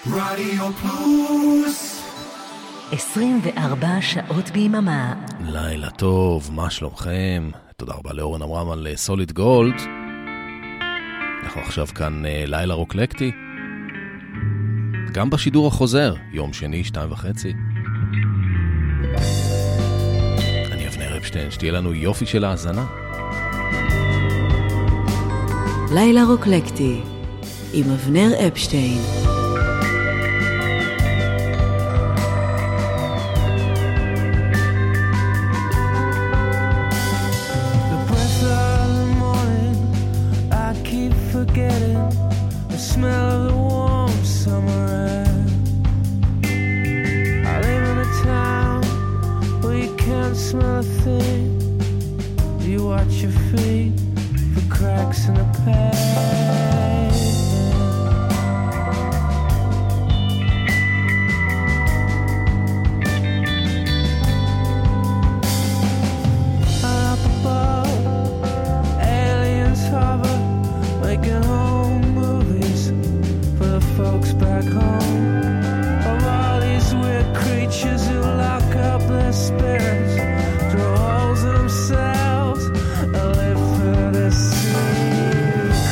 רדיו פלוס 24 שעות ביממה. לילה טוב, מה שלומכם? תודה רבה לאורן אמרם על סוליד גולד. אנחנו עכשיו כאן לילה רוקלקטי, גם בשידור החוזר, יום שני 2:30. אני אבנר אפשטיין, שתהיה לנו יופי של האזנה. לילה רוקלקטי עם אבנר אפשטיין. Smell of the warm summer air. I live in a town where you can't smell a thing. You watch your feet for cracks in the pavement. Up above, aliens hover, making home folks back home. Of all these weird creatures who lock up their spirits, draw holes in themselves, and live for their secrets.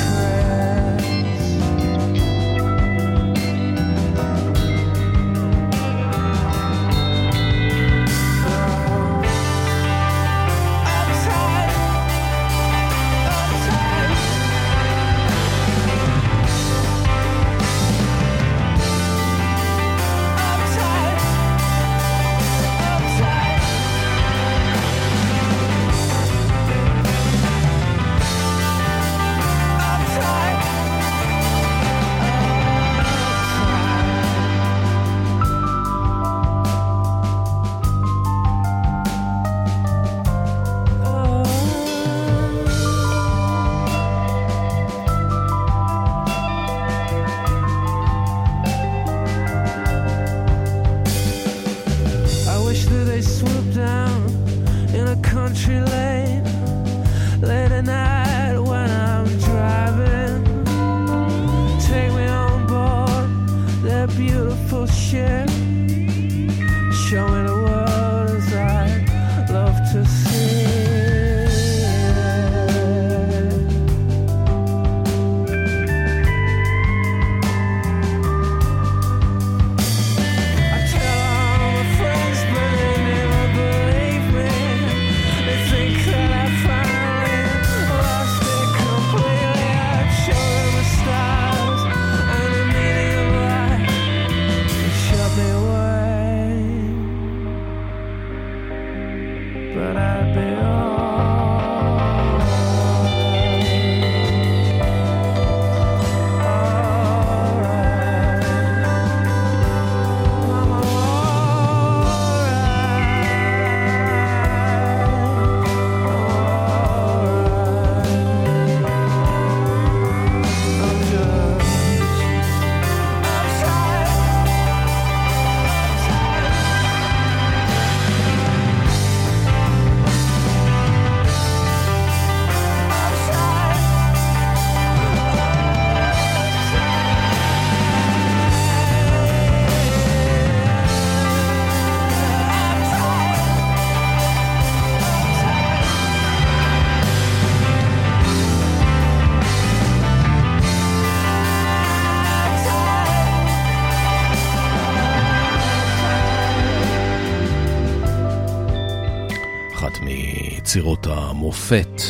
יצירות המופת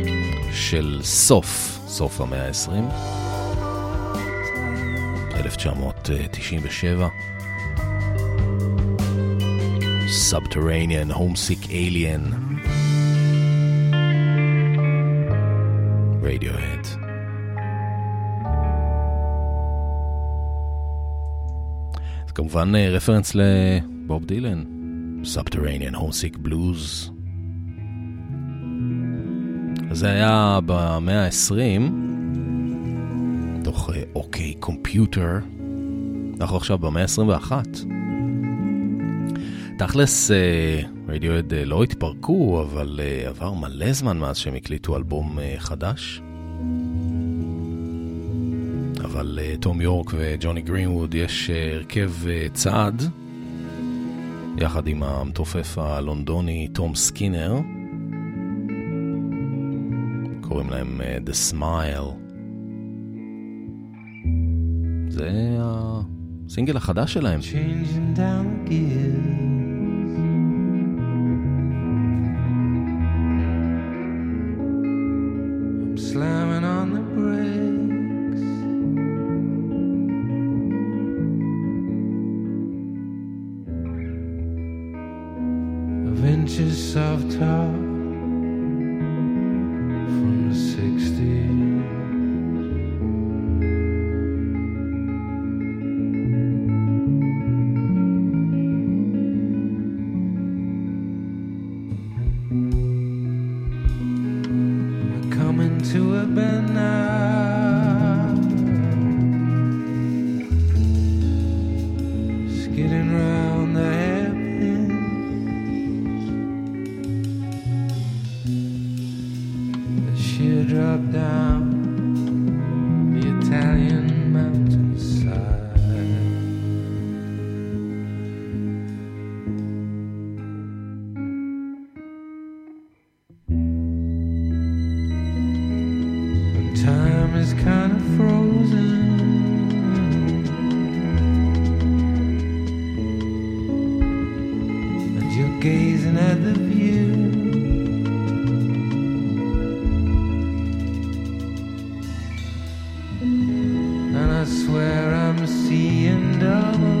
של סוף המאה ה-20, 1997, Subterranean Homesick Alien, Radiohead. זה כמובן רפרנס לבוב דילן, Subterranean Homesick Blues. זה היה במאה ה-20, תוך אוקיי קומפיוטר. אנחנו עכשיו במאה ה-21. תכלס, רדיואד לא התפרקו, אבל עבר מלא זמן מאז שהם הקליטו אלבום חדש. אבל תום יורק וג'וני גרינווד יש הרכב צעד, יחד עם המתופף הלונדוני תום סקינר, קוראים להם The Smile. זה הסינגל החדש שלהם. Changing down the gears, I'm slamming on the brakes, of inches soft top from the 60s. To a bend now, skidding round the hairpins, the sheer drop down the Italian mountainside. Time is kind of frozen, and you're gazing at the view, and I swear I'm seeing double.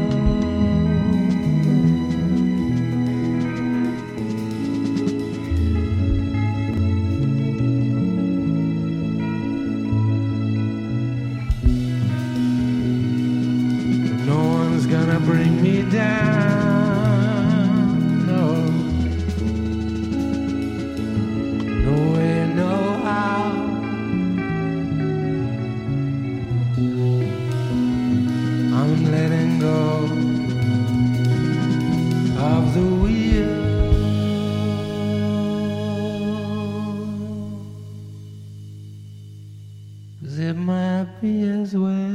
Bring me down, no, no way, no how. I'm letting go of the wheel. It might be as well.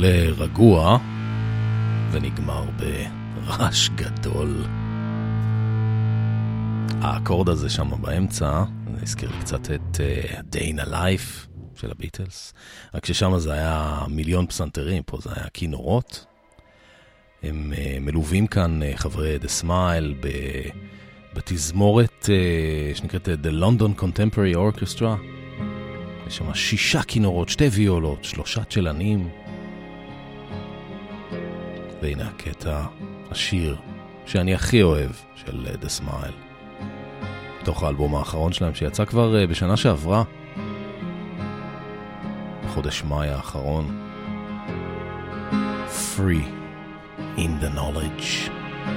מתחיל רגוע ונגמר ברעש גדול. האקורד הזה שם באמצע, זה הזכיר לי קצת את Day in a Life של הביטלס, רק ששם זה היה מיליון פסנתרים, פה זה היה כינורות. הם מלווים כאן חברי The Smile בתזמורת שנקראת The London Contemporary Orchestra. יש שם 6 כינורות, 2 ויולות, 3 צ'לנים. והנה הקטע, השיר שאני הכי אוהב של The Smile, תוך האלבום האחרון שלהם שיצא כבר בשנה שעברה, בחודש מאי האחרון. Free in the knowledge.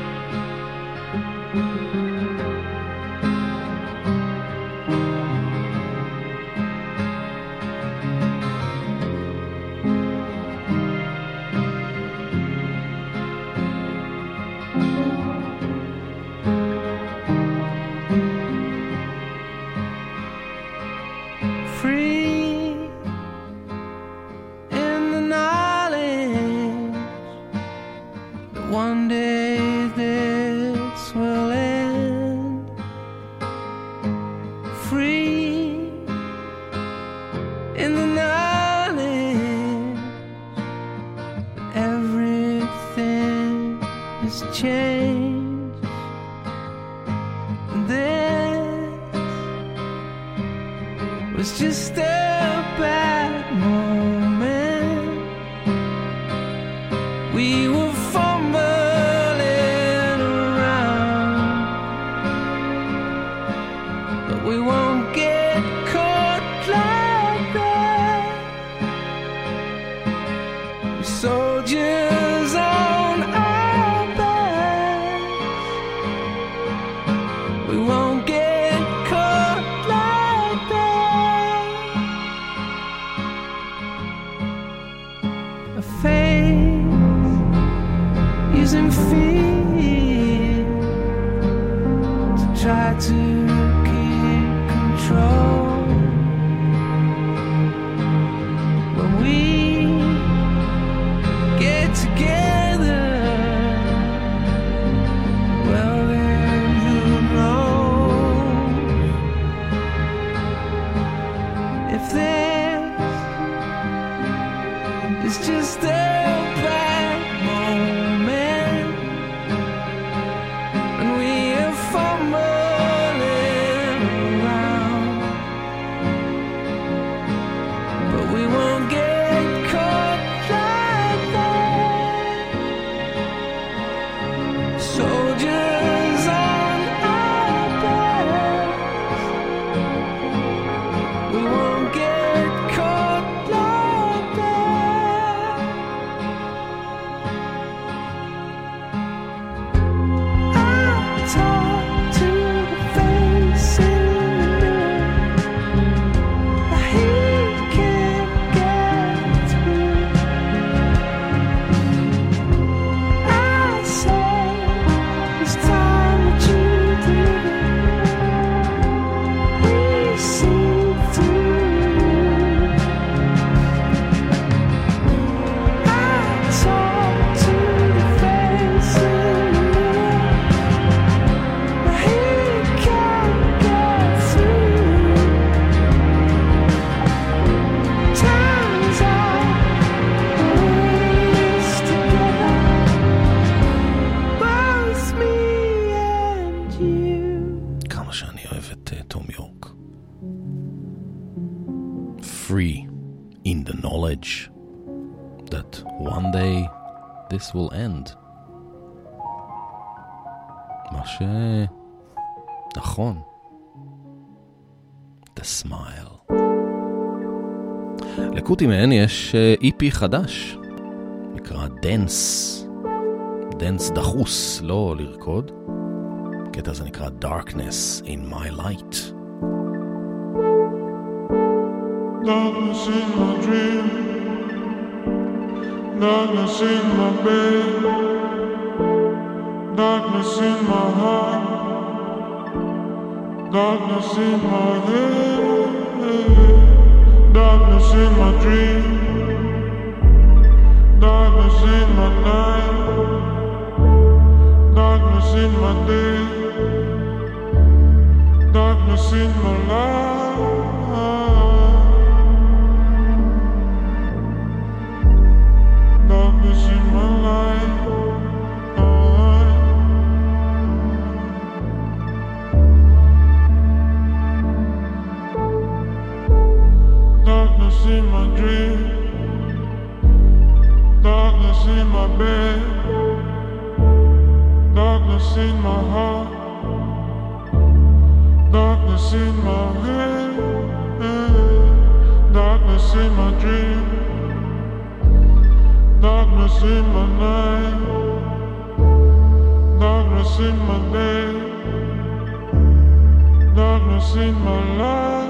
will end. מה נכון. The Smile. לקוטי מהן יש EP חדש, נקרא Dance. Dance דחוס, לא לרקוד. הקטע הזה נקרא Darkness in my light. Darkness in my dream, darkness in my bed, darkness in my heart, darkness in my head, darkness in my dream, Darkness in my day, darkness in my life, darkness in my life. Darkness in my dream, darkness in my bed, darkness in my heart, darkness in my head, darkness in my dream, darkness in my night, darkness in my day, darkness in my life.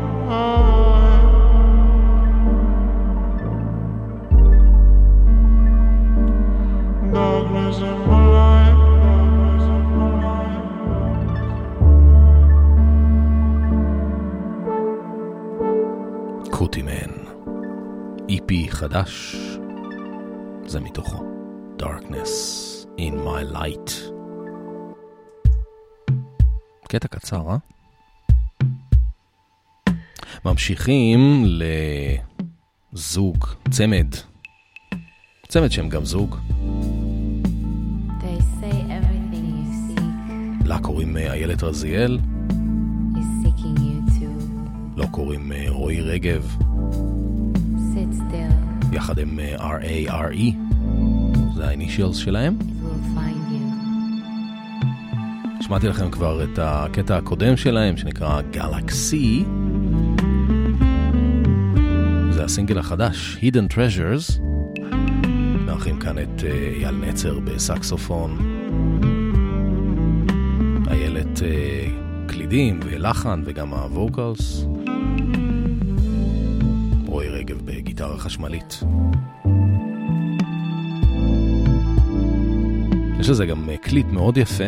Darkness in my life, darkness in my life. קוטימן, EP חדש, זה מתוכו, Darkness in my light. קטע קצר, אה? ממשיכים לזוג, צמד שהם גם זוג. לה קוראים איילת רזיאל, לא קוראים רועי רגב, יחד עם R.A.R.E, זה האינישיאלס שלהם. שמעתי לכם כבר את הקטע הקודם שלהם שנקרא Galaxy, זה הסינגל החדש Hidden Treasures. מארחים כאן את אייל נצר בסקסופון, איילת קלידים ולחן וגם הווקלס, רועי רגב בגיטרה חשמלית. יש לזה גם קליפ מאוד יפה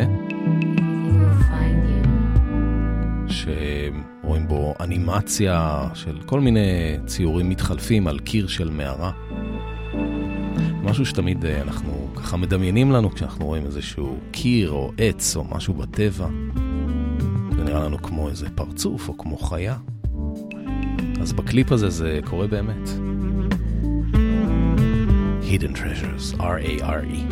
שרואים בו אנימציה של כל מיני ציורים מתחלפים על קיר של מערה, משהו שתמיד אנחנו ככה מדמיינים לנו כשאנחנו רואים איזשהו קיר או עץ או משהו בטבע, זה נראה לנו כמו איזה פרצוף או כמו חיה. אז בקליפ הזה זה קורה באמת. Hidden Treasures, R.A.R.E.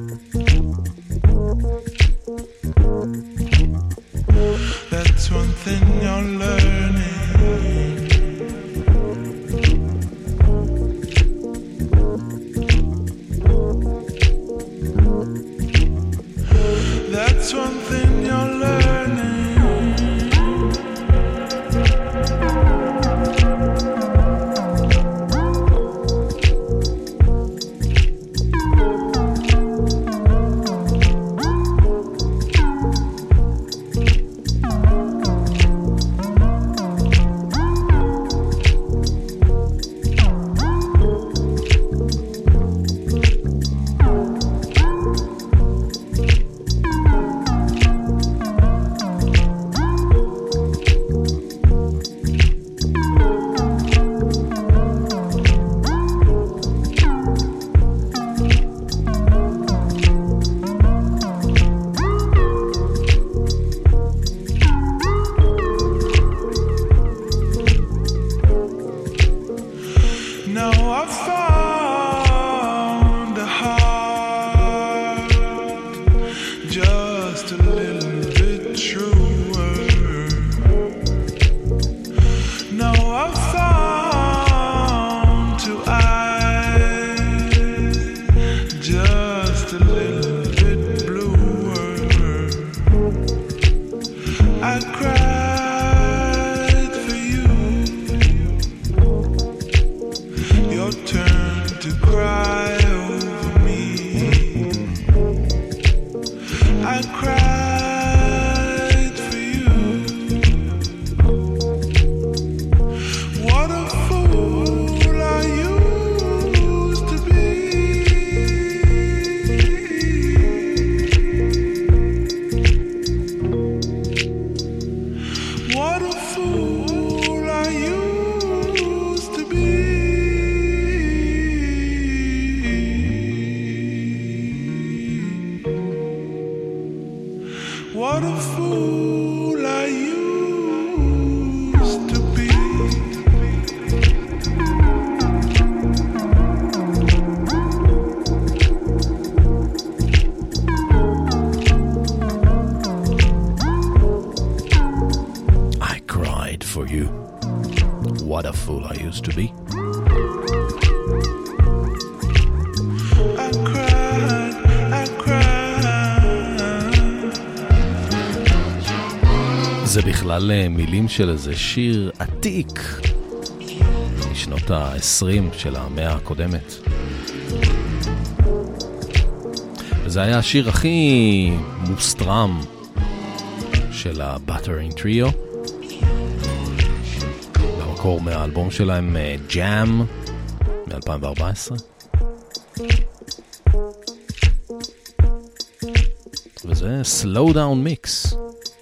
That's one thing you're learning. That's one thing you're learning. What a fool I used to be. I cried for you. What a fool I used to be. I cried, I cried. זה בכלל מילים של איזה שיר עתיק משנות ה-20 של המאה הקודמת. וזה היה השיר הכי מוסטרם של ה-Buttering Trio. במקור מהאלבום שלהם Jam מ-2014. וזה Slow Down Mix.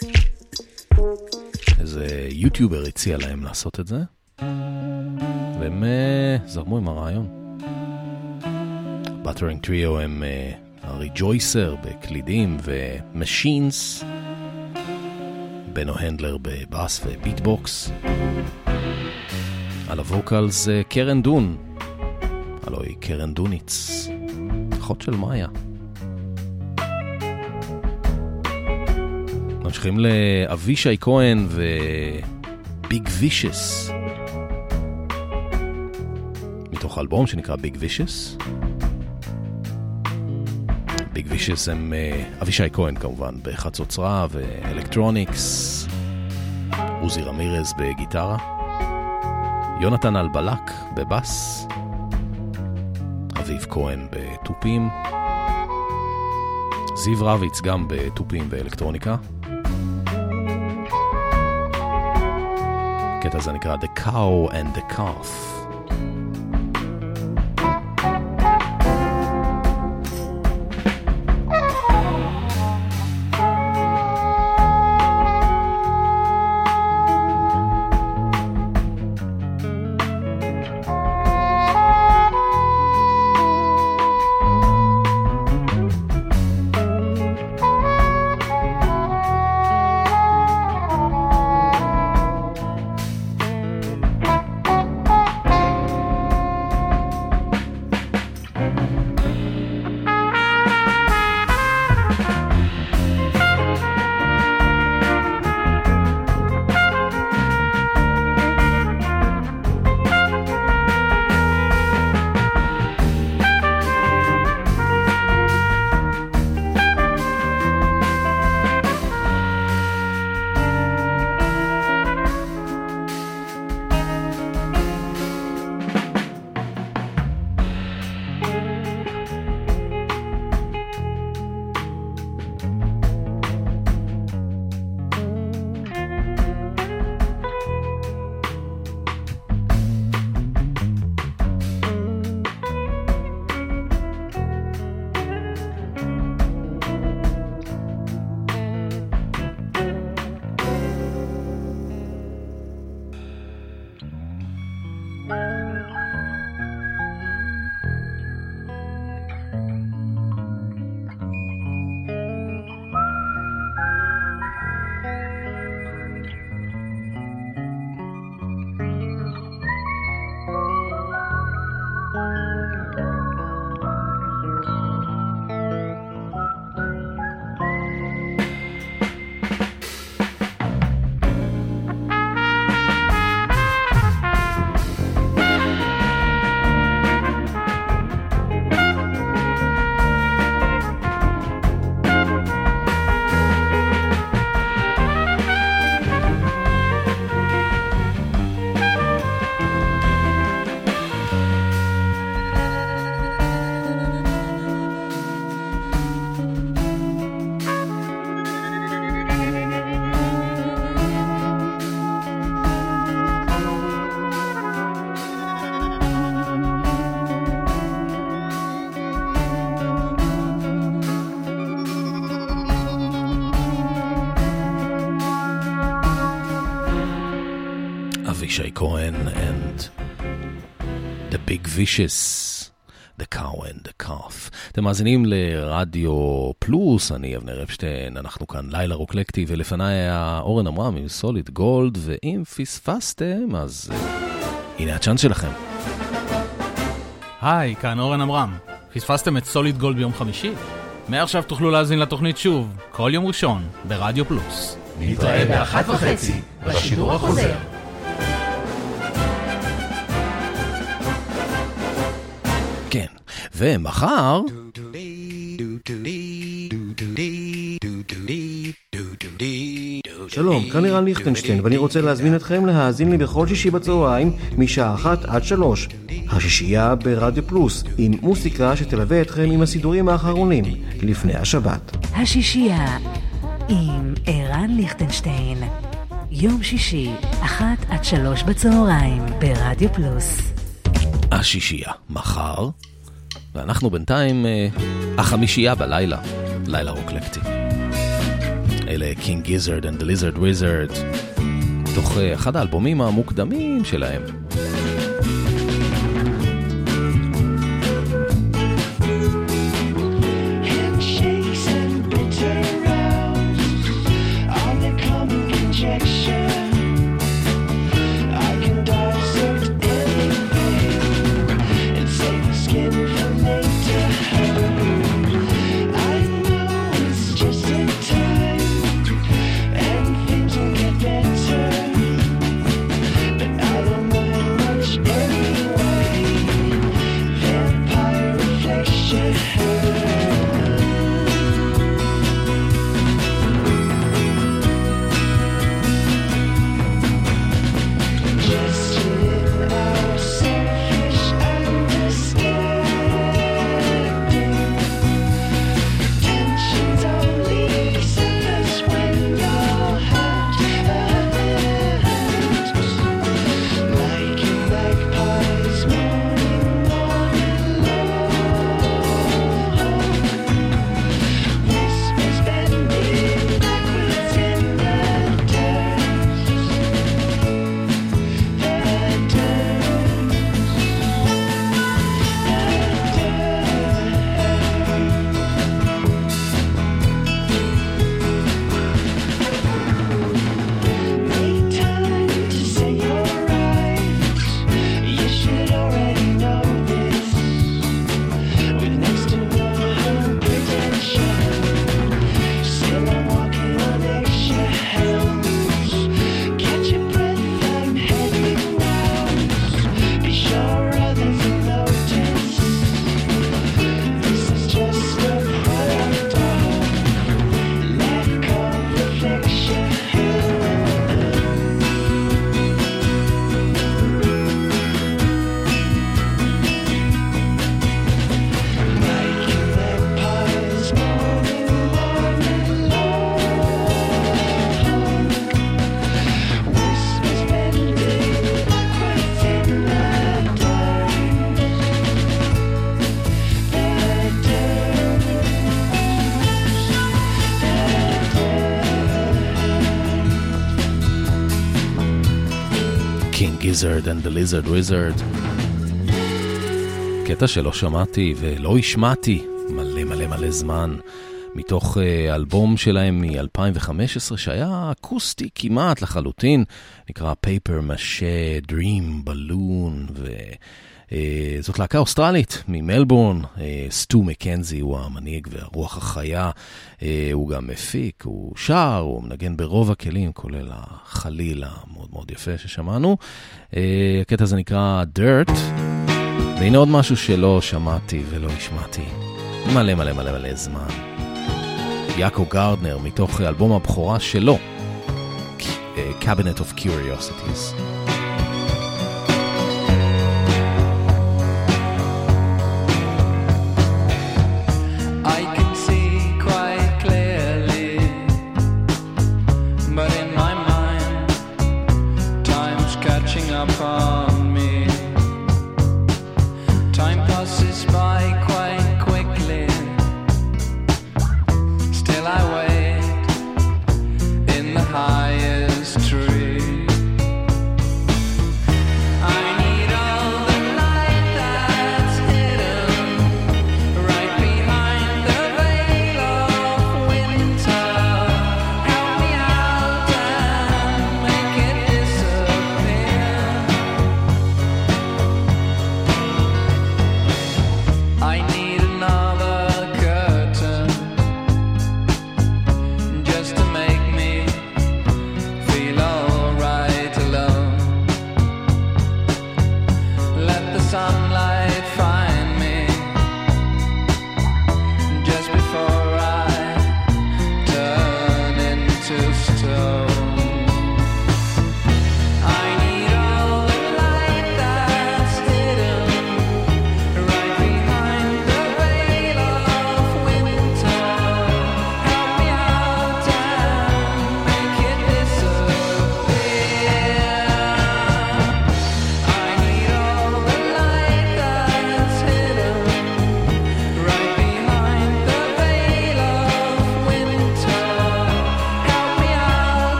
איזה יוטיובר הציע להם לעשות את זה, והם זרמו עם הרעיון. Buttering Trio הם הריג'ויסר בקלידים ומשינס, בנו הנדלר בבאס וביטבוקס. על הווקל זה קרן דון, הלוא היא קרן דוניץ, אחות של מאיה. ממשיכים לאבישי כהן וביג וישס, מתוך אלבום שנקרא ביג וישס. ביג וישס הם אבישי כהן כמובן בחצוצרה ואלקטרוניקס, עוזי רמירז בגיטרה, יונתן אלבלק בבאס, אביב כהן בטופים, זיו רביץ גם בטופים ואלקטרוניקה. הקטע הזה נקרא The Cow and the Calf. אבישי כהן and The Big Vicious, The Cow and the Calf. אתם מאזינים לרדיו פלוס, אני אבנר אפשטיין, אנחנו כאן לילה רוקלקטי, ולפניי היה אורן אמרם עם סוליד גולד, ואם פספסתם, אז הנה הצ'אנס שלכם. היי, כאן אורן אמרם. פספסתם את סוליד גולד ביום חמישי? מעכשיו תוכלו להזין לתוכנית שוב, כל יום ראשון, ברדיו פלוס. נתראה ב-1:30 בשידור החוזר. כן, ומחר... שלום, כאן לירן ליכטנשטיין, ואני רוצה להזמין אתכם להאזין לי בכל שישי בצהריים משעה 1 עד 3. השישייה ברדיו פלוס, עם מוסיקה שתלווה אתכם עם הסידורים האחרונים לפני השבת. השישייה עם ערן ליכטנשטיין, יום שישי 1 עד 3 בצהריים ברדיו פלוס. השישייה מחר, ואנחנו בינתיים החמישייה בלילה, לילה רוקלקטי. אלה King Gizzard and the Lizard Wizard, תוך אחד האלבומים המוקדמים שלהם. Gizzard and the Lizard Wizard, קטע שלא שמעתי ולא השמעתי מלא מלא מלא זמן, מתוך אלבום שלהם מ-2015 שהיה אקוסטי כמעט לחלוטין, נקרא Paper Mache Dream Balloon, וזאת להקה אוסטרלית ממלבורן. סטו מקנזי הוא המנהיג והרוח החיה, הוא גם מפיק, הוא שר, הוא מנגן ברוב הכלים, כולל החליל המאוד מאוד יפה ששמענו. הקטע הזה נקרא Dirt, והנה עוד משהו שלא שמעתי ולא השמעתי מלא מלא מלא מלא זמן, יאקו גארדנר, מתוך אלבום הבכורה שלו, Cabinet of Curiosities. Highest tree.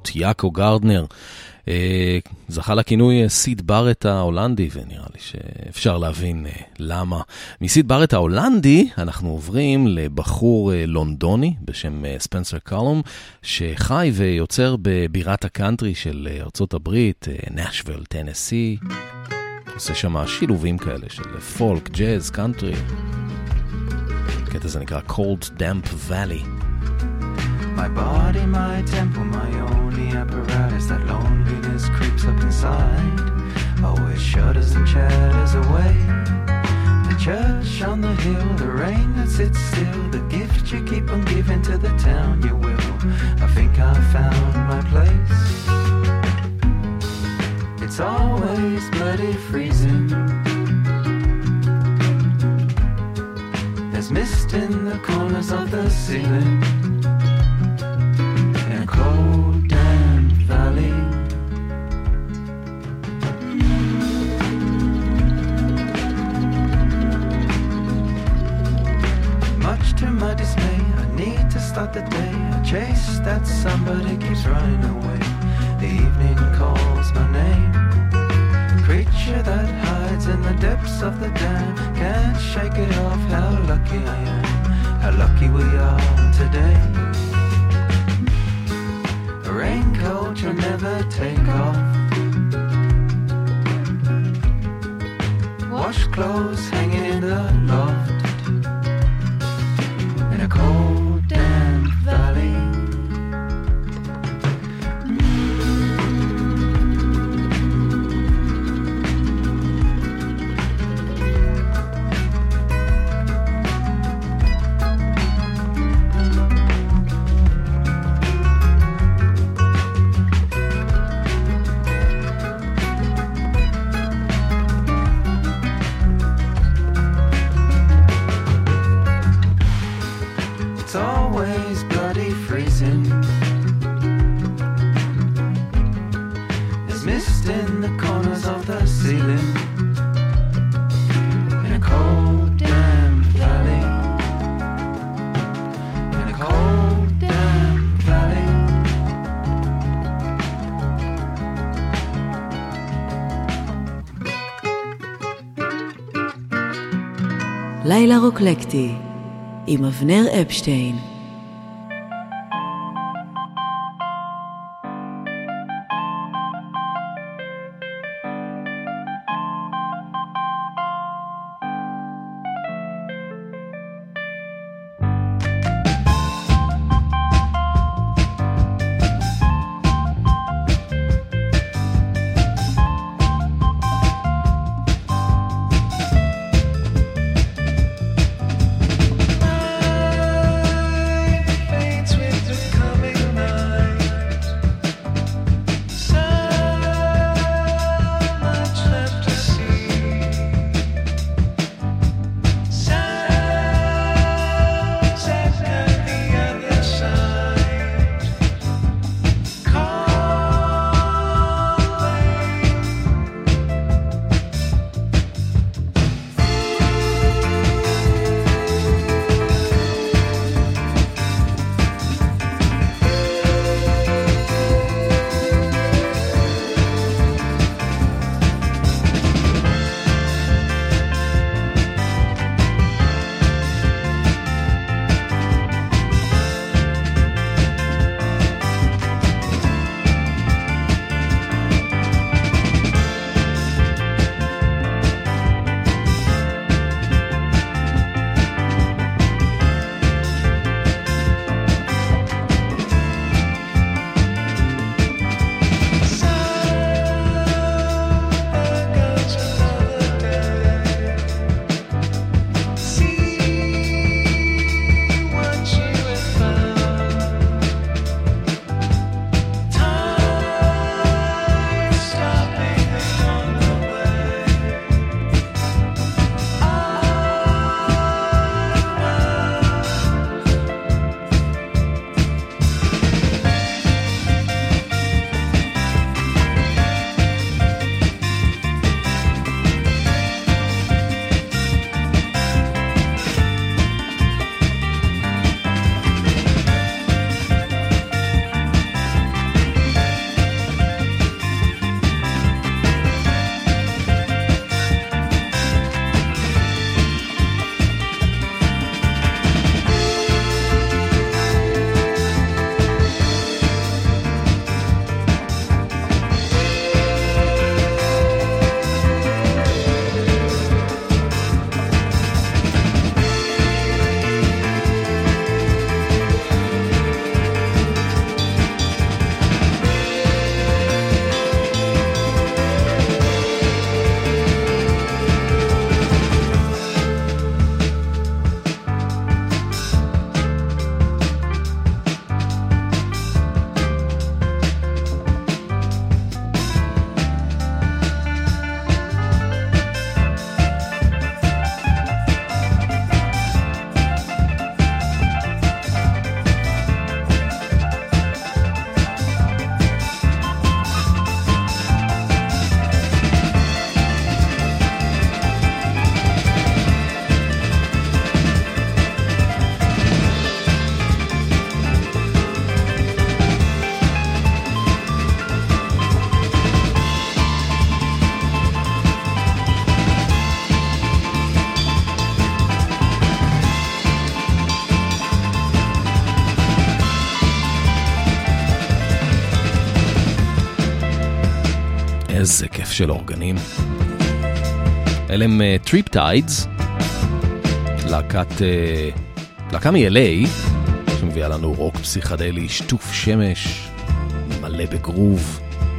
להקות, יאקו גרדנר, זכה לכינוי סיד ברט ההולנדי, ונראה לי שאפשר להבין למה. מסיד ברט ההולנדי אנחנו עוברים לבחור לונדוני בשם ספנסר קלום, שחי ויוצר בבירת הקאנטרי של ארצות הברית, נשוויל, טנסי. עושה שם שילובים כאלה של פולק, ג'אז, קאנטרי. הקטע הזה נקרא Cold Damp Valley. My body, my temple, my only apparatus. That loneliness creeps up inside. Oh, it shudders and chatters away. The church on the hill, the rain that sits still, the gift you keep on giving to the town you will. I think I found my place. It's always bloody freezing. There's mist in the corners of the ceiling. Cold damp valley. Much to my dismay, I need to start the day. I chase that somebody keeps running away. The evening calls my name. Creature that hides in the depths of the dam. Can't shake it off, how lucky I am. How lucky we are today. Raincoat you'll never take off. Wash clothes hanging in the loft. In a cold damp valley. לילה רוקלקטי עם אבנר אפשטיין. איזה כיף של אורגנים. אלה הם טריפטיידס, להקה מ-LA, שמביאה לנו רוק פסיכדלי, שטוף שמש, מלא בגרוב.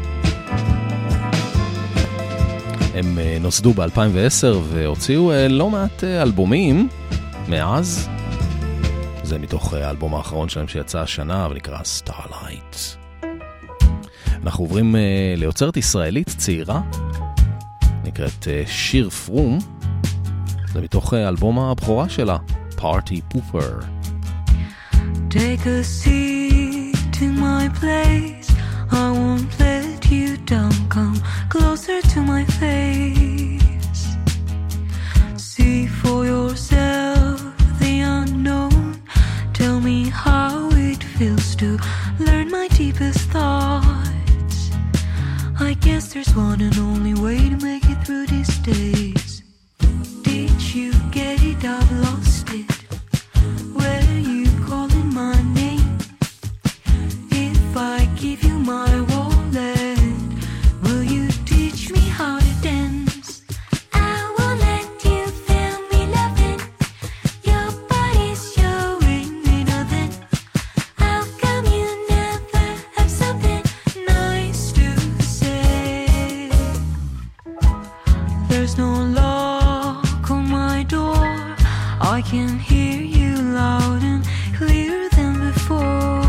הם נוסדו ב-2010 והוציאו לא מעט אלבומים מאז. זה מתוך האלבום האחרון שלהם שיצא השנה ונקרא Starlight. אנחנו עוברים ליוצרת ישראלית צעירה, נקראת שיר פרום. זה מתוך אלבום הבכורה שלה, Party Pooper. Take a seat in my place, I won't let you down, come closer to my face. See for yourself the unknown, tell me how it feels to learn my deepest thoughts. I guess there's one and only way to make it through these days. Did you get it? I've lost it. Where you calling my name? If I give you my wallet, will you teach me how to dance? I won't let you feel me loving. Your body's showing me nothing. How come you never have something nice to say? There's no lock on my door, I can hear you loud and clearer than before.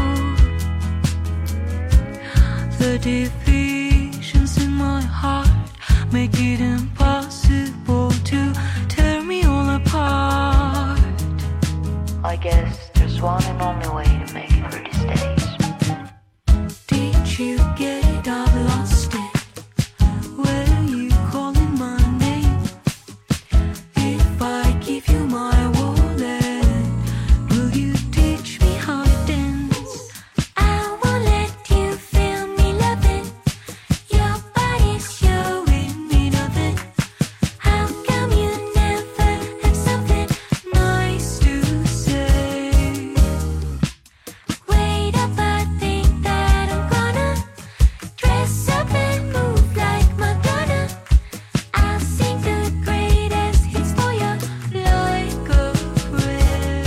The divisions in my heart make it impossible to tear me all apart. I guess there's one and only way to make it through these days. Did you get it? I've lost it. Where you calling my name? If I give you my wallet, will you teach me how to dance? I won't let you feel me loving. Your body's showing me nothing. How come you never have something nice to say? Wait up, I think that I'm gonna dress up and move like Madonna. I'll sing the greatest hits for you like a prayer.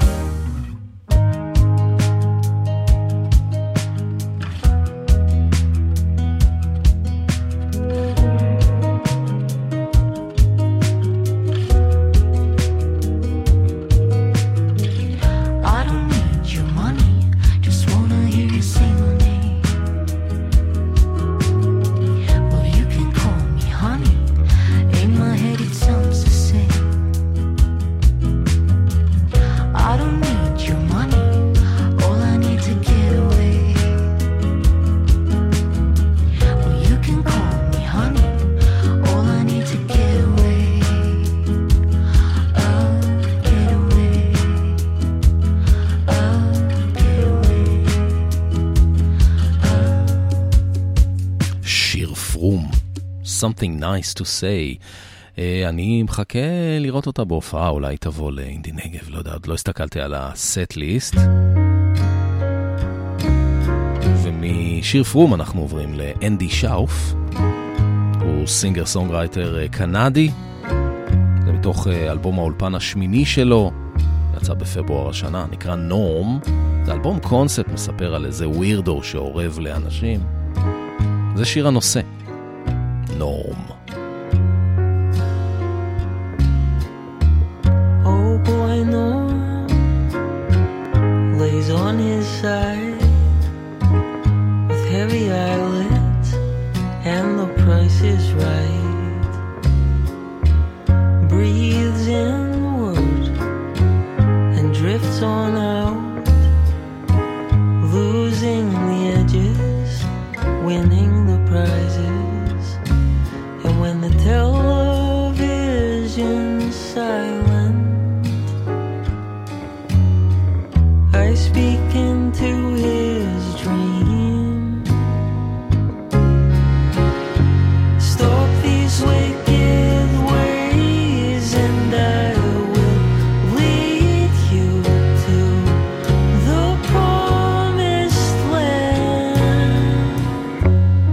I don't need your money, just wanna hear you say my name. Well, you can call me honey, in my head it sounds the same. I don't need your money, all I need to get away. Well, you can call me honey, all I need to get away. Get away. Get away. שיר פרום, Something Nice to Say. אני מחכה לראות אותה בהופעה, אולי תבוא לאינדי נגב, לא יודע, עוד לא הסתכלתי על הסט ליסט. ומשיר פרום אנחנו עוברים לאנדי שאוף, הוא סינגר סונגרייטר קנדי, זה מתוך אלבום האולפן השמיני שלו, יצא בפברואר השנה, נקרא נורם. זה אלבום קונספט, מספר על איזה ווירדו שעורב לאנשים. זה שיר הנושא, נורם. Oh boy, Norm lays on his side with heavy eyelids, and the price is right. Breathes in the word and drifts on out, losing the edges, winning the prizes. And when the television's silent, I speak into his dream. Stop these wicked ways and I will lead you to the promised land.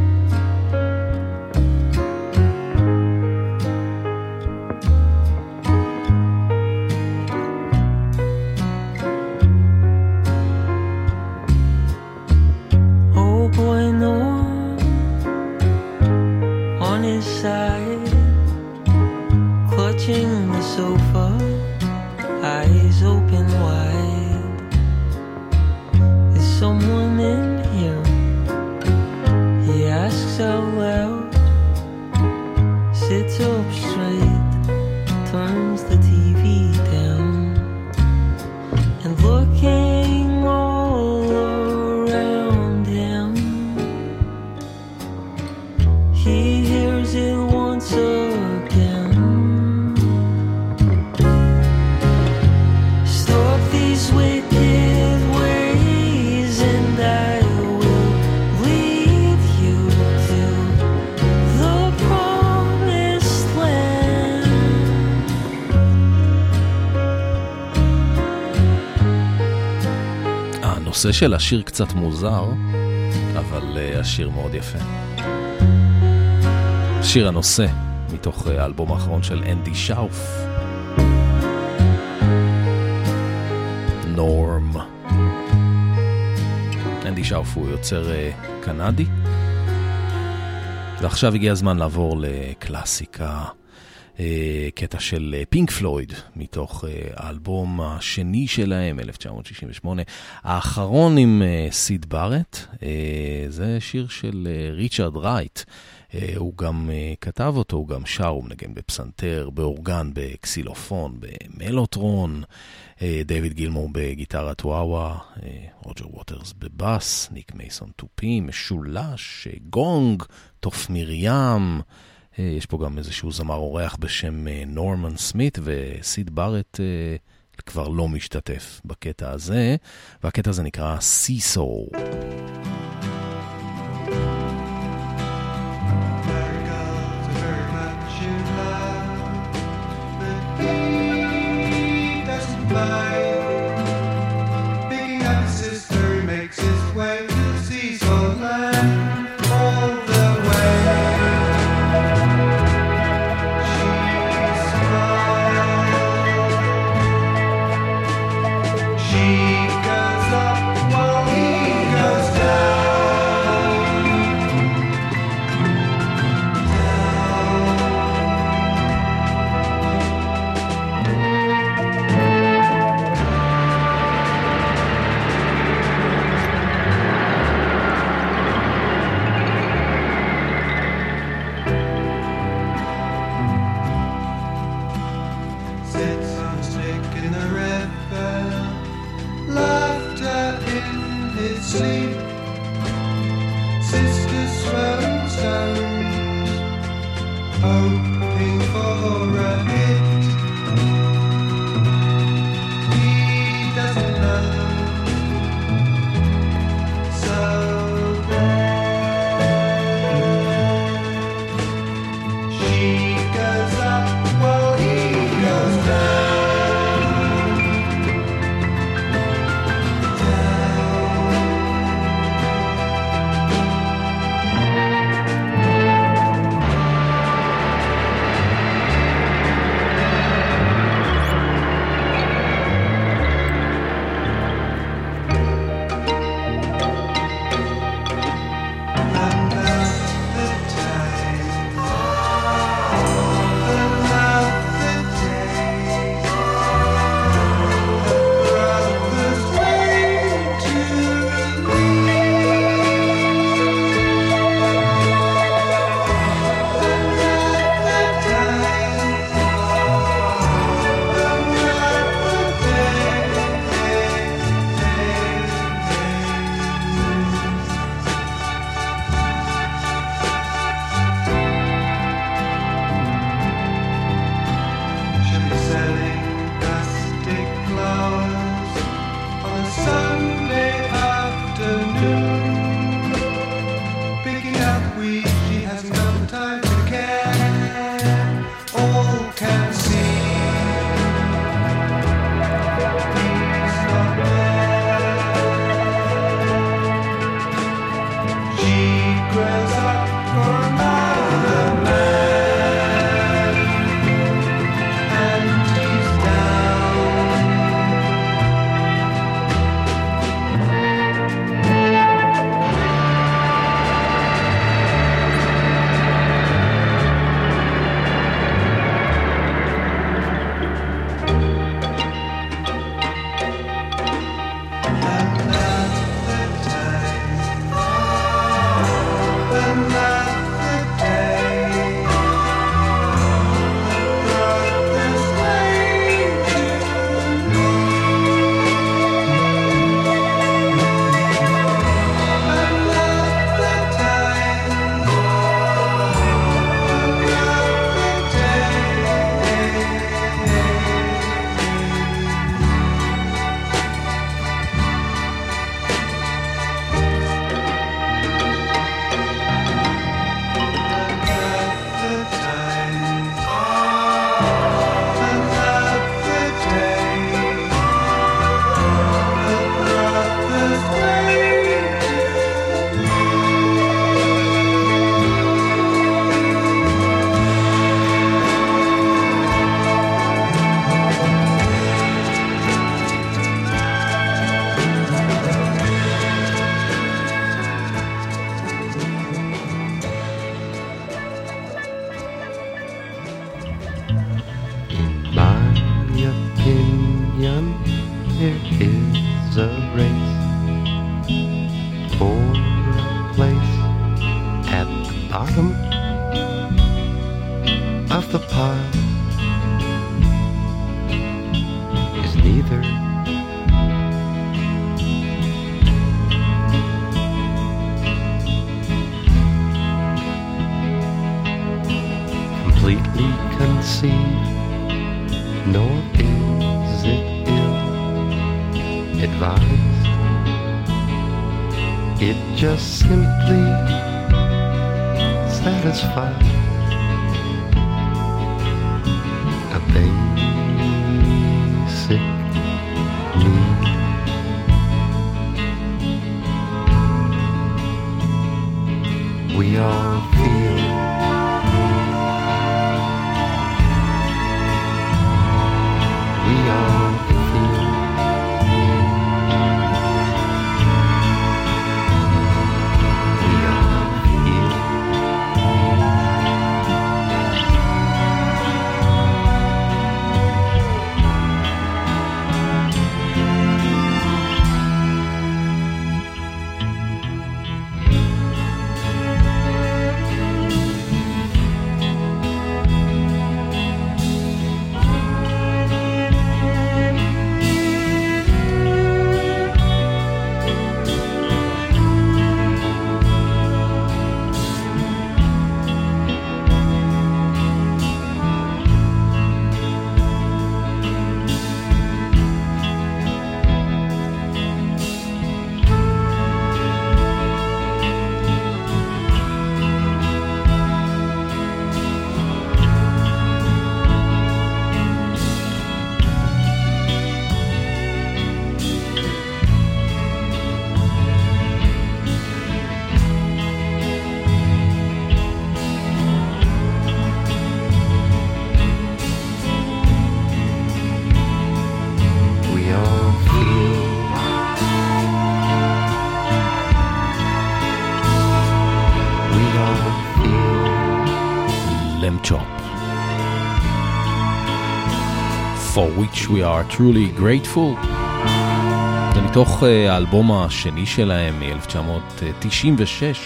someone in here? He asks out loud, sits up straight, turns the TV down, and looking all around him, he hears it once again. Stop these wicked ways and I will lead you to the promised land. הנושא של השיר קצת מוזר, אבל השיר מאוד יפה. שיר הנושא מתוך האלבום האחרון של אנדי שאוף, נורם. אנדי שאוף הוא יוצר קנדי, ועכשיו הגיע הזמן לעבור לקלאסיקה, קטע של פינק פלויד מתוך האלבום השני שלהם, 1968, האחרון עם סיד בארט. זה שיר של ריצ'רד רייט, הוא גם כתב אותו, הוא גם שר, הוא מנגן בפסנתר, באורגן, בקסילופון, במלוטרון, דיוויד גילמור בגיטרת וואווה, רוג'ר ווטרס בבאס, ניק מייסון טופים, משולש, גונג, תוף מרים. יש פה גם איזשהו זמר אורח בשם נורמן סמית, וסיד בארט כבר לא משתתף בקטע הזה, והקטע הזה נקרא סיסו. Picking up his sister, he makes his way to Cecil Land all the way. She smiles. She goes up while he goes down. Sits on a stick in the river, laughter in his sleep. Sisters throwing stones, hoping for a hit. He doesn't know, so she goes up while he goes down, down. It just simply satisfies a basic need. We all feel we all feel we all feel For which we are truly grateful. זה מתוך האלבום השני שלהם מ-1996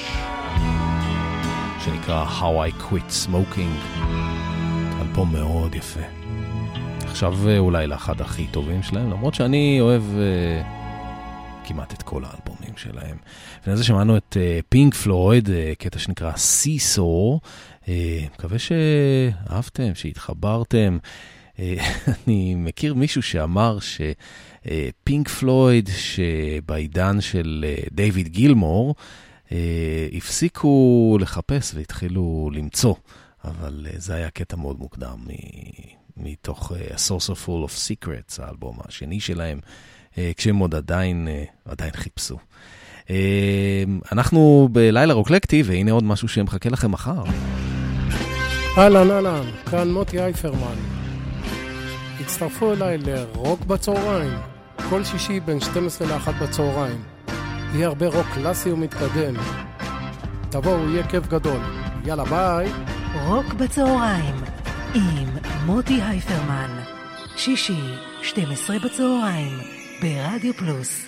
שנקרא How I Quit Smoking. אלבום מאוד יפה. עכשיו אולי לאחד הכי טובים שלהם, למרות שאני אוהב כמעט את כל האלבומים שלהם. לפני זה שמענו את פינק פלויד, קטע שנקרא Seesaw. מקווה שאהבתם, שהתחברתם. אני מכיר מישהו שאמר שפינק פלויד שבעידן של דיוויד גילמור הפסיקו לחפש והתחילו למצוא, אבל זה היה קטע מאוד מוקדם מתוך A Saucer Full of Secrets, האלבום השני שלהם, כשהם עוד עדיין חיפשו. אנחנו בלילה רוקלקטי, והנה עוד משהו שמחכה לכם מחר. אהלן, כאן מוטי אייפרמן. הצטרפו אליי לרוק בצהריים, כל שישי בין 12 ל-1 בצהריים. יהיה הרבה רוק קלאסי ומתקדם. תבואו, יהיה כיף גדול. יאללה, ביי. רוק בצהריים עם מוטי אייפרמן, שישי 12 בצהריים ברדיו פלוס.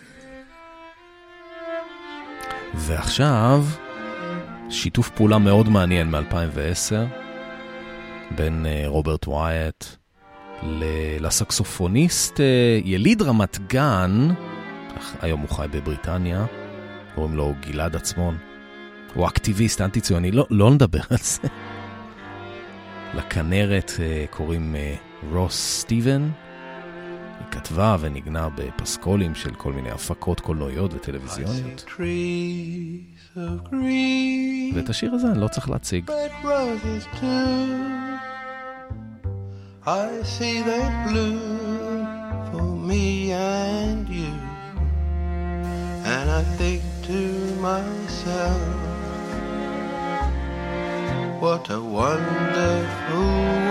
ועכשיו שיתוף פעולה מאוד מעניין מ-2010 בין רוברט ווייט לסקסופוניסט יליד רמת גן, היום הוא חי בבריטניה, קוראים לו גלעד עצמון. הוא אקטיביסט אנטי-ציוני, לא נדבר על זה. לכנרת קוראים רוס סטיבן. היא כתבה ונגנה בפסקולים של כל מיני הפקות קולנועיות וטלוויזיוניות. ואת השיר הזה אני לא צריך להציג. I see they bloom for me and you, and I think to myself, what a wonderful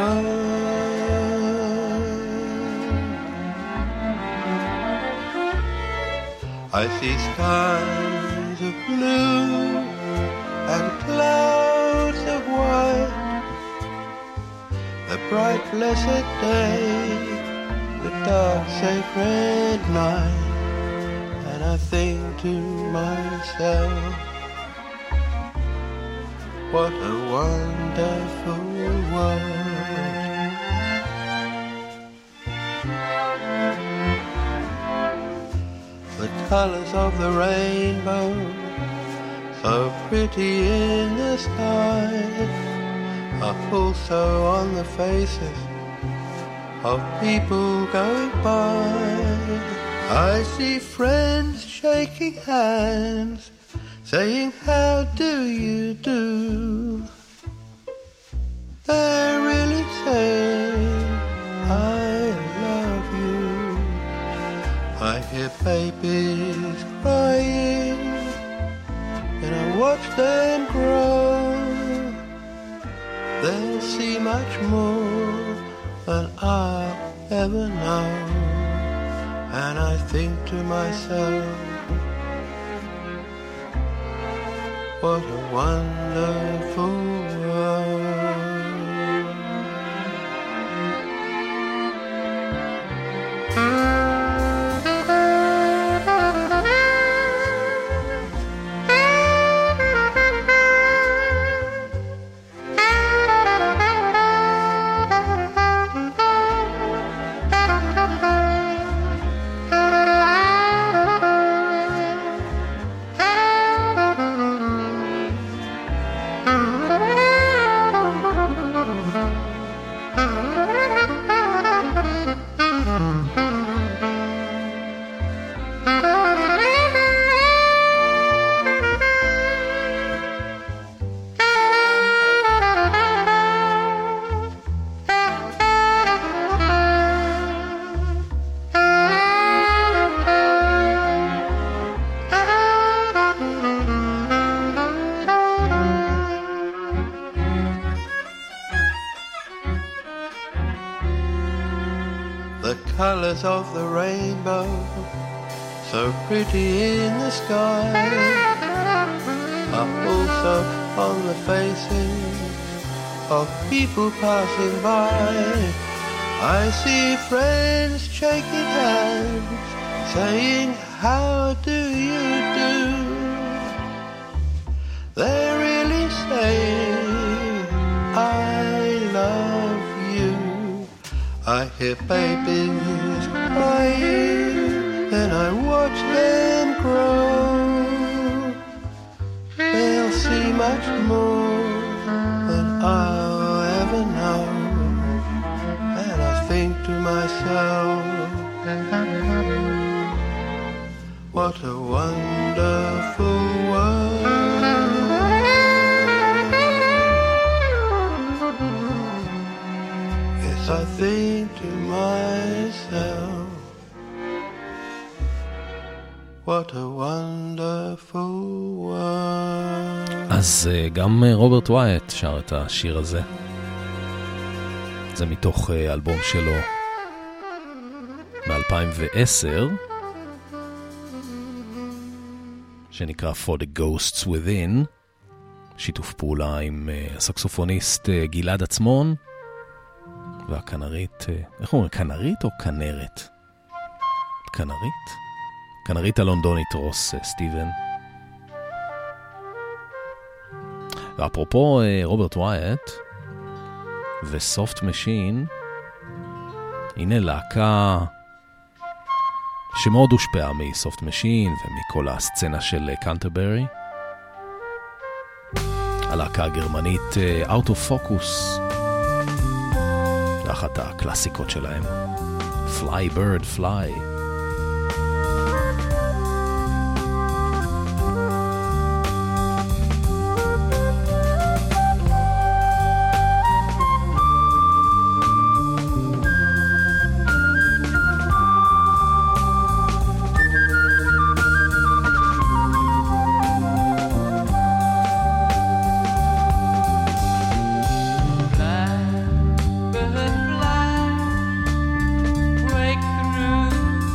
world. I see skies of blue and clouds of white, the bright blessed day, the dark sacred night, and I think to myself, what a wonderful world. The colors of the rainbow, so pretty in the sky, are also on the faces of people going by. I see friends shaking hands, saying how do you do. They're really saying I love you. I hear babies crying and I watch them grow. They'll see much more than I'll ever know. And I think to myself, what a wonderful world. Colors of the rainbow, so pretty in the sky, are also on the faces of people passing by. I see friends shaking hands, saying how do you do. They're really saying I love you. I hear babies crying and I watch them grow. They'll see much more than I'll ever know. And I think to myself, what a wonderful world. Yes, I think to myself, what a wonderful world. אז גם רוברט ווייט שר את השיר הזה. זה מתוך אלבום שלו מ-2010 שנקרא For the Ghosts Within, שיתוף פעולה עם הסקסופוניסט גלעד עצמון והכנרית, איך אומרים, כנרית או כנרת? כנרית? כנרית הלונדונית רוס סטיבן. ואפרופו רוברט ווייט וסופט משין, הנה להקה שמאוד הושפעה מסופט משין ומכל הסצנה של קנטרברי, הלהקה הגרמנית Out of Focus, ואחת הקלאסיקות שלהם, Fly Bird Fly. Break through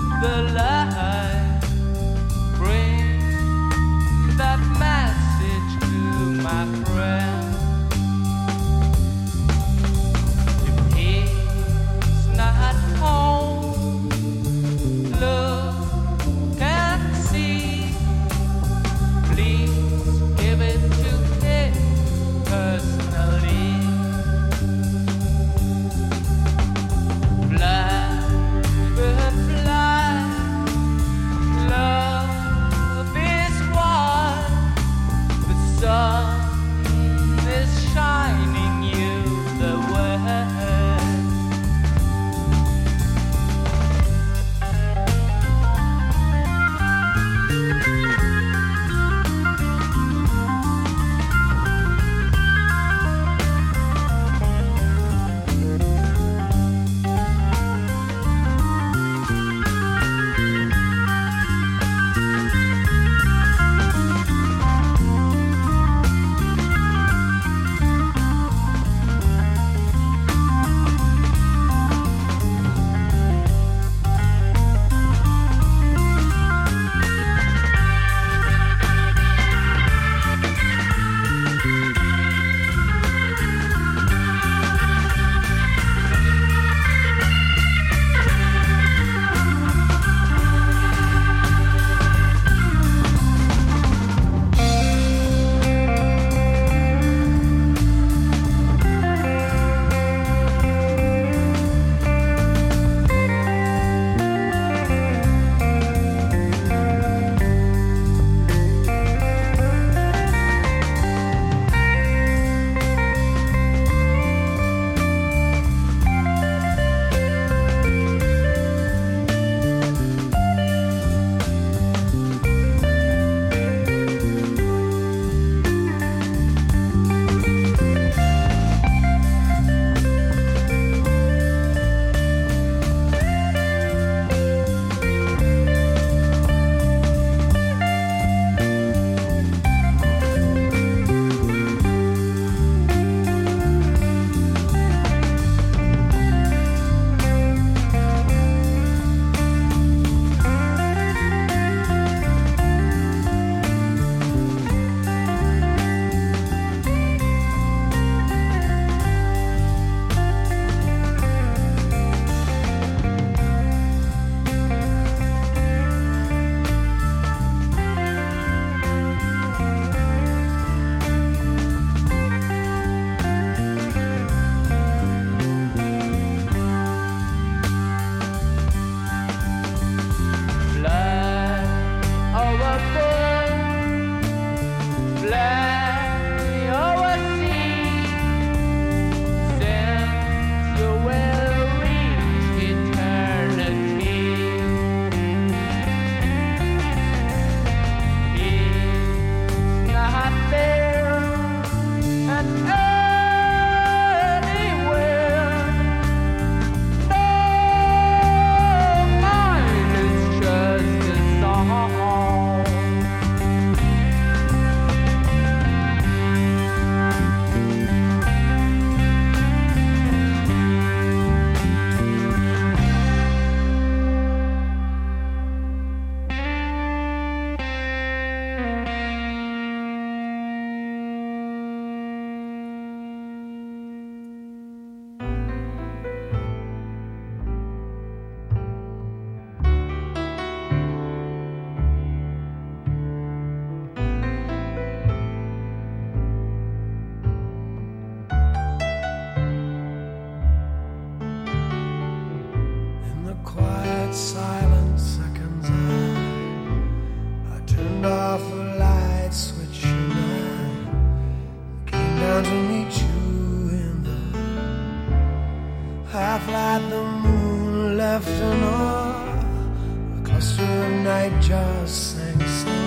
like the moon left an off. A cluster of nightjars sang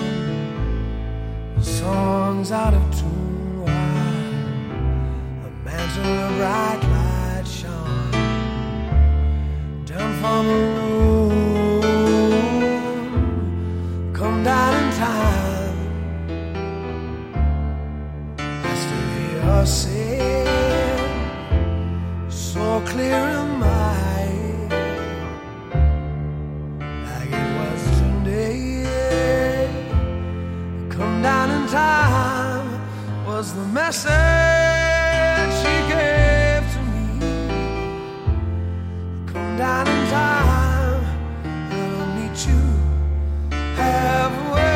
songs out of tune. While a mantle of bright light shone down from the moon. Come down in time. I still hear her sing, so clear in my ear, like it was today. Come down in time was the message she gave to me. Come down in time and I'll meet you halfway.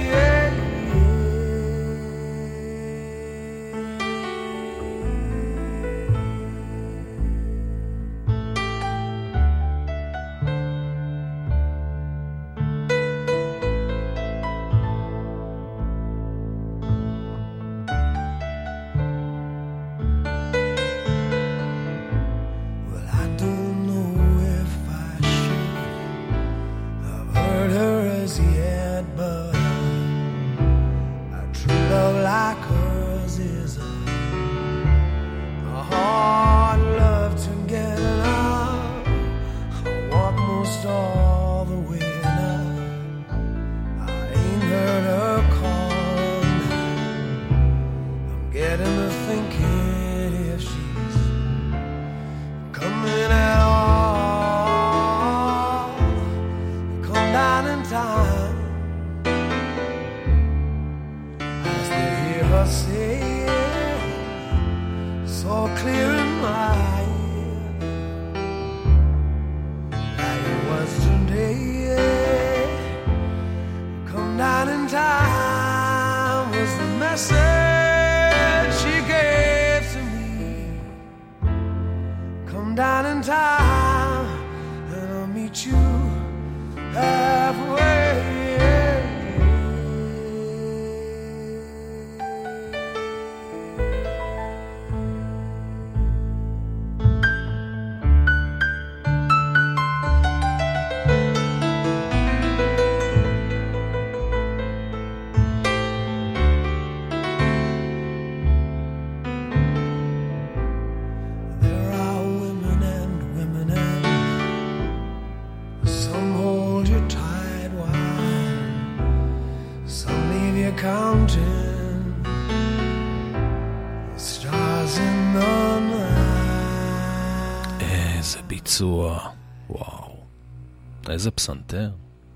וואו, איזה פסנתר.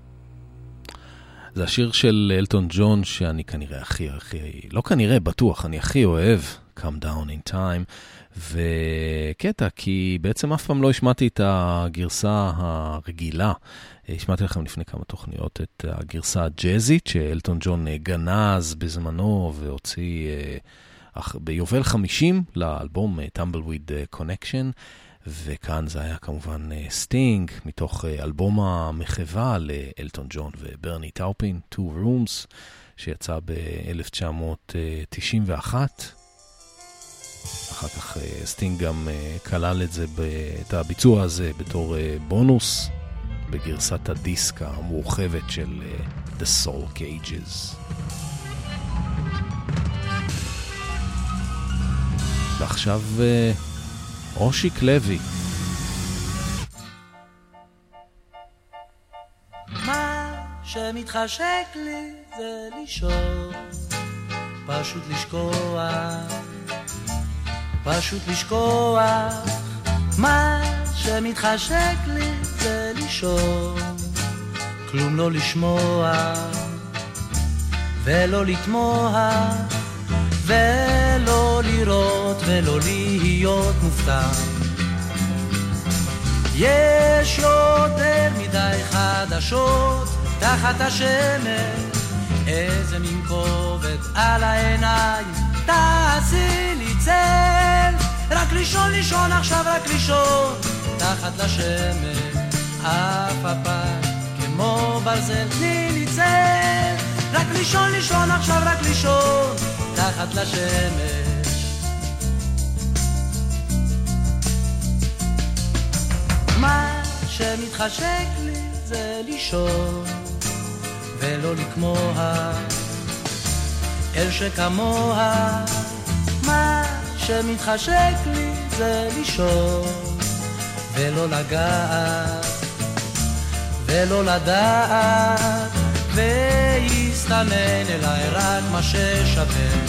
זה השיר של אלטון ג'ון שאני כנראה לא כנראה, בטוח, אני הכי אוהב, Come Down in Time, וקטע, כי בעצם אף פעם לא השמעתי את הגרסה הרגילה. השמעתי לכם לפני כמה תוכניות את הגרסה הג'אזית, שאלטון ג'ון גנז בזמנו והוציא ביובל 50 לאלבום Tumbleweed Connection, וכאן זה היה כמובן סטינג, מתוך אלבום המחווה לאלטון ג'ון וברני טאופין, Two Rooms, שיצא ב-1991. אחר כך סטינג גם כלל את הביצוע הזה בתור בונוס, בגרסת הדיסק המורחבת של The Soul Cages. ועכשיו אושיק לוי. מה שמתחשק לי זה לישון, פשוט לשכוח. מה שמתחשק לי זה לישון, כלום לא לשמוע ולא לתמוה ולא לראות ולא להיות מופתע. יש יותר מדי חדשות תחת השמש, איזה מין כובד על העיניים, תעשי לי צל. רק לישון לישון עכשיו, רק לישון תחת לשמש, אף הפעם כמו ברזל, תני לי צל. רק לישון לישון עכשיו, רק לישון תחת לשמש. שמתחשק לי זה לישון ולא לקמוה אל שכמוה. מה שמתחשק לי זה לישון ולא לגעת ולא לדעת, ויסתנן אליי רק מה ששווה.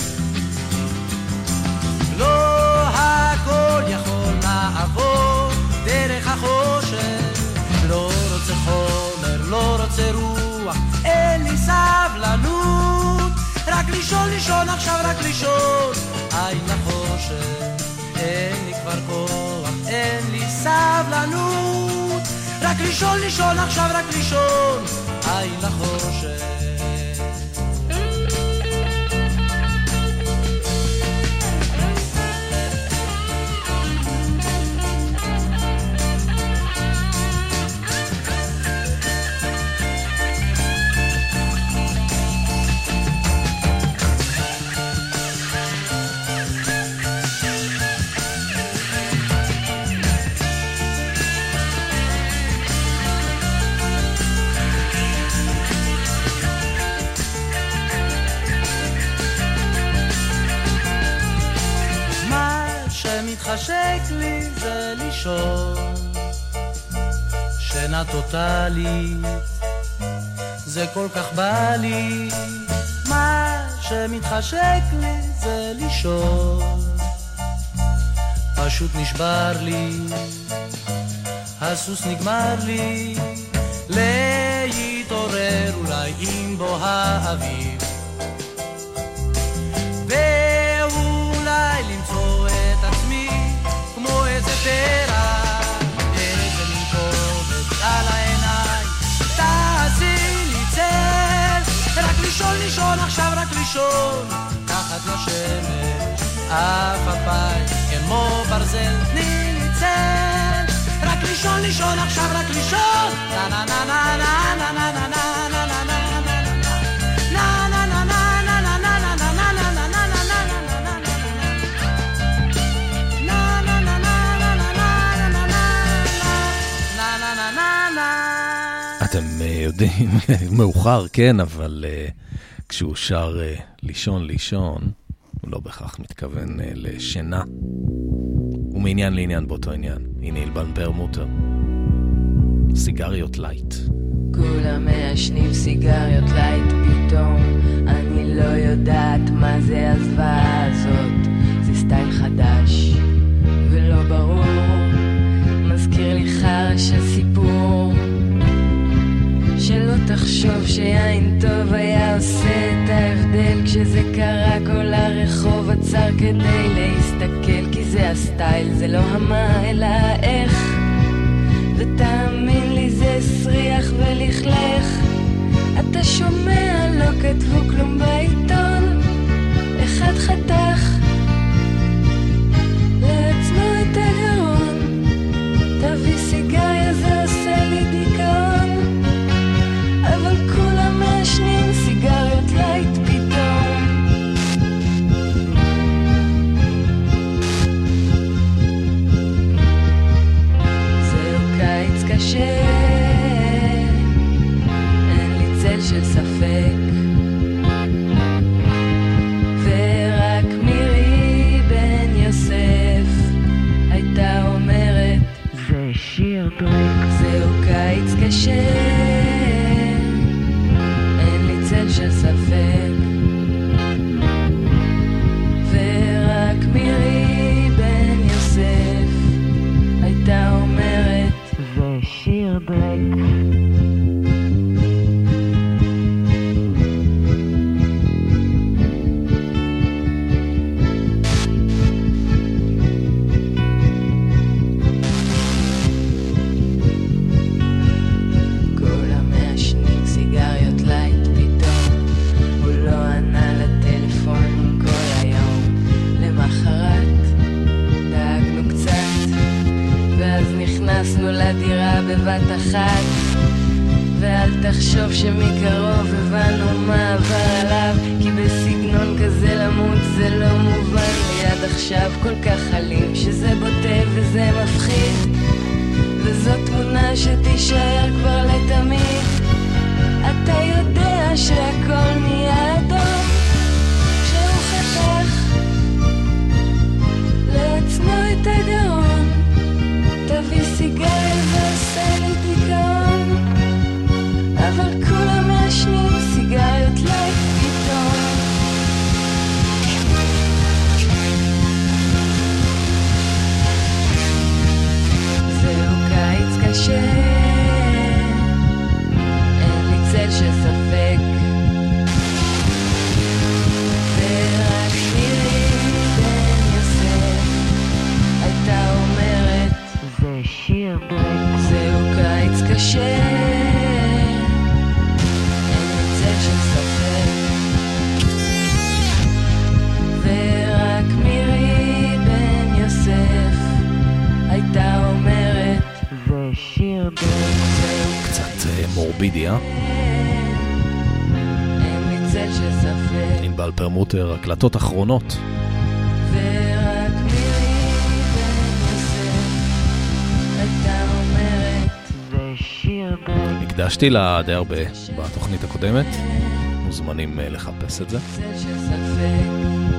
לא הכל יכול לעבור דרך החושך, לא רוצה חומר, לא רוצה רוח, אין לי סבלנות, רק לישון, לישון עכשיו, רק לישון. אין לחושך, אין לי כבר כוח, אין לי סבלנות, רק לישון, לישון עכשיו, רק לישון. אין לחושך. מתחשק לי זה לישון, שינה טוטלית, זה כל כך בא לי. מה שמתחשק לי זה לישון, פשוט נשבר לי, הסוס נגמר לי, להתעורר אולי עם בוא האביב, ואולי למצוא את עצמי כמו איזה פרח, איזה מין כובד על העיניים, תעשי לי צל, רק לישון, לישון עכשיו, רק לישון, תחת לשמש, אף הפי כמו ברזל, תני לי צל, רק לישון, לישון עכשיו, רק לישון, נה נה נה נה נה נה נה נה נה נה נה נה אתם יודעים, מאוחר, כן, אבל כשהוא שר לישון, לישון, הוא לא בכך מתכוון לשינה. הוא מעניין לעניין באותו עניין. הנה אלבן פרמוטר. סיגריות לייט. כולם מעשנים סיגריות לייט פתאום, אני לא יודעת מה זה הזוועה הזאת, זה סטייל חדש ולא ברור, מזכיר לי חרש הסיפור, שלא תחשוב שיין טוב היה עושה את ההבדל, כשזה קרה כל הרחוב עצר כדי להסתכל, כי זה הסטייל, זה לא המה אלא איך, ותאמין לי זה סריח ולכלך, אתה שומע לא כתבו כלום בעיתון, אחד חתך לעצמו את הגרון, תביא סיגריה זה עושה לי דיכאון, אבל כולם מעשנים סיגריות לייט פתאום. זהו קיץ קשה, אין לי צל של ספק, ורק מירי בן יוסף הייתה אומרת זה שיר ברק. זהו קיץ קשה, צל של ספק, ורק מירי בן יוסף הייתה אומרת זה שיר ברק. נכנסנו לדירה בבת אחת, ואל תחשוב שמקרוב הבנו מה עבר עליו, כי בסגנון כזה למות זה לא מובן לי עד עכשיו, כל כך חלים שזה בוטה וזה מפחיד, וזאת תמונה שתישאר כבר לתמיד. אתה יודע שהכל נהיה אדום כשהוא חתך לעצמו את הגרון. תביא סיגריה ועושה לי דיכאון, אבל כולם מעשנים סיגריות לייק פתאום. זהו קיץ קשה, אין לי צל של ספק, ורק מירי בן יוסף הייתה אומרת זה שיר ברק. זהו קיץ קשה, אין לי צל של ספק, ורק מירי בן יוסף הייתה אומרת זה שיר ברק. קצת מורבידיה. אין לי צל של ספק, ענבל פרמוטר, הקלטות אחרונות. ורק מירי בן יוסף הייתה אומרת זה שיר ברק. הקדשתי לה די הרבה בתוכנית הקודמת, מוזמנים לחפש את זה. צל של ספק,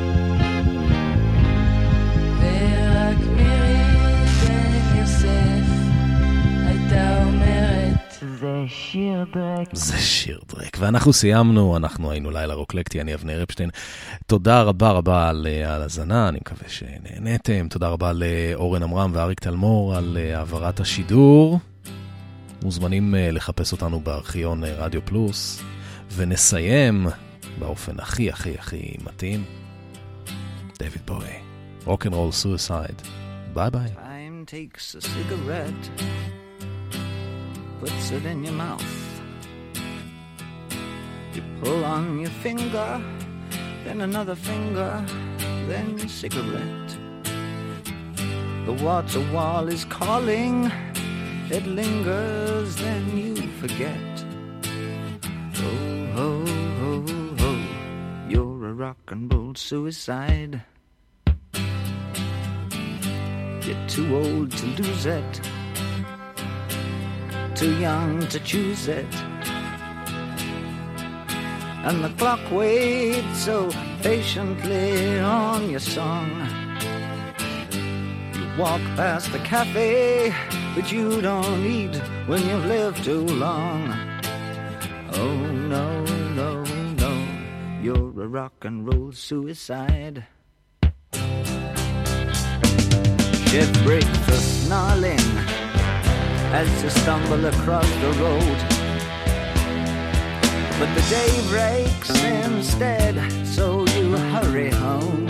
ורק מירי בן יוסף הייתה אומרת זה שיר דרק. זה שיר דרק. ואנחנו סיימנו, אנחנו היינו לילה רוקלקטי, אני אבנר אפשטיין. תודה רבה רבה על ההאזנה, אני מקווה שנהנתם. תודה רבה לאורן עמרם ואריק תלמור על העברת השידור. מוזמנים לחפש אותנו בארכיון רדיו פלוס, ונסיים באופן הכי הכי הכי מתאים. דויד בואי, רוק'נ'רול סויסייד. ביי ביי. Time takes a cigarette, puts it in your mouth. You pull on your finger, then another finger, then cigarette. The water wall is calling, it lingers, then you forget. Oh, ho, ho, ho, you're a rock and roll suicide. You're too old to lose it, too young to choose it, and the clock waits so patiently on your song. You walk past the cafe, but you don't eat when you've lived too long. Oh no, no, no, you're a rock and roll suicide. Shit breaks a snarling as you stumble across the road, but the day breaks instead, so you hurry home.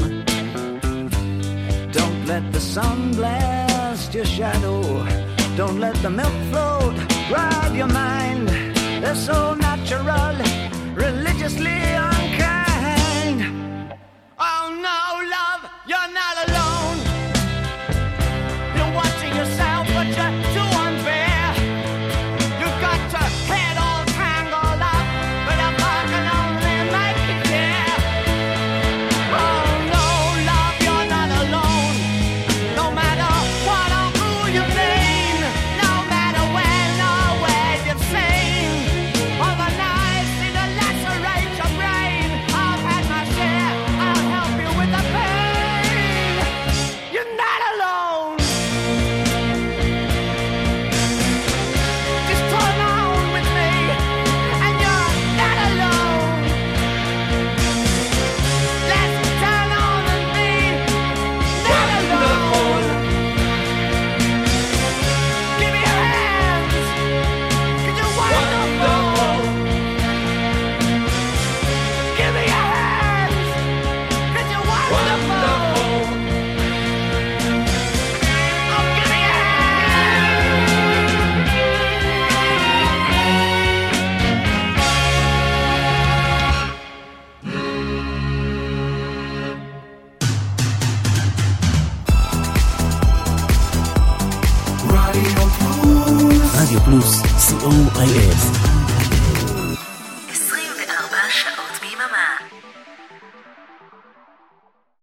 Don't let the sun blast your shadow, don't let the milk float ride your mind. They're so natural, religiously unkind. Oh no, love, you're not alone. You're watching yourself, but you're too unfair. You've got your head all tangled up, but a car can only make you care. Oh no, love, you're not alone. No matter what or who you've been, no matter when or where you've seen, all the knives need to lacerate your brain. I've had my share, I'll help you with the pain. You're not alone. Just turn on with me, and you're not alone. Let's turn on and be not alone. Give me your hands, 'cause you're wonderful. Give me your hands, 'cause you're wonderful. Oh, give me your רדיו פלוס, רדיו פלוס, co.il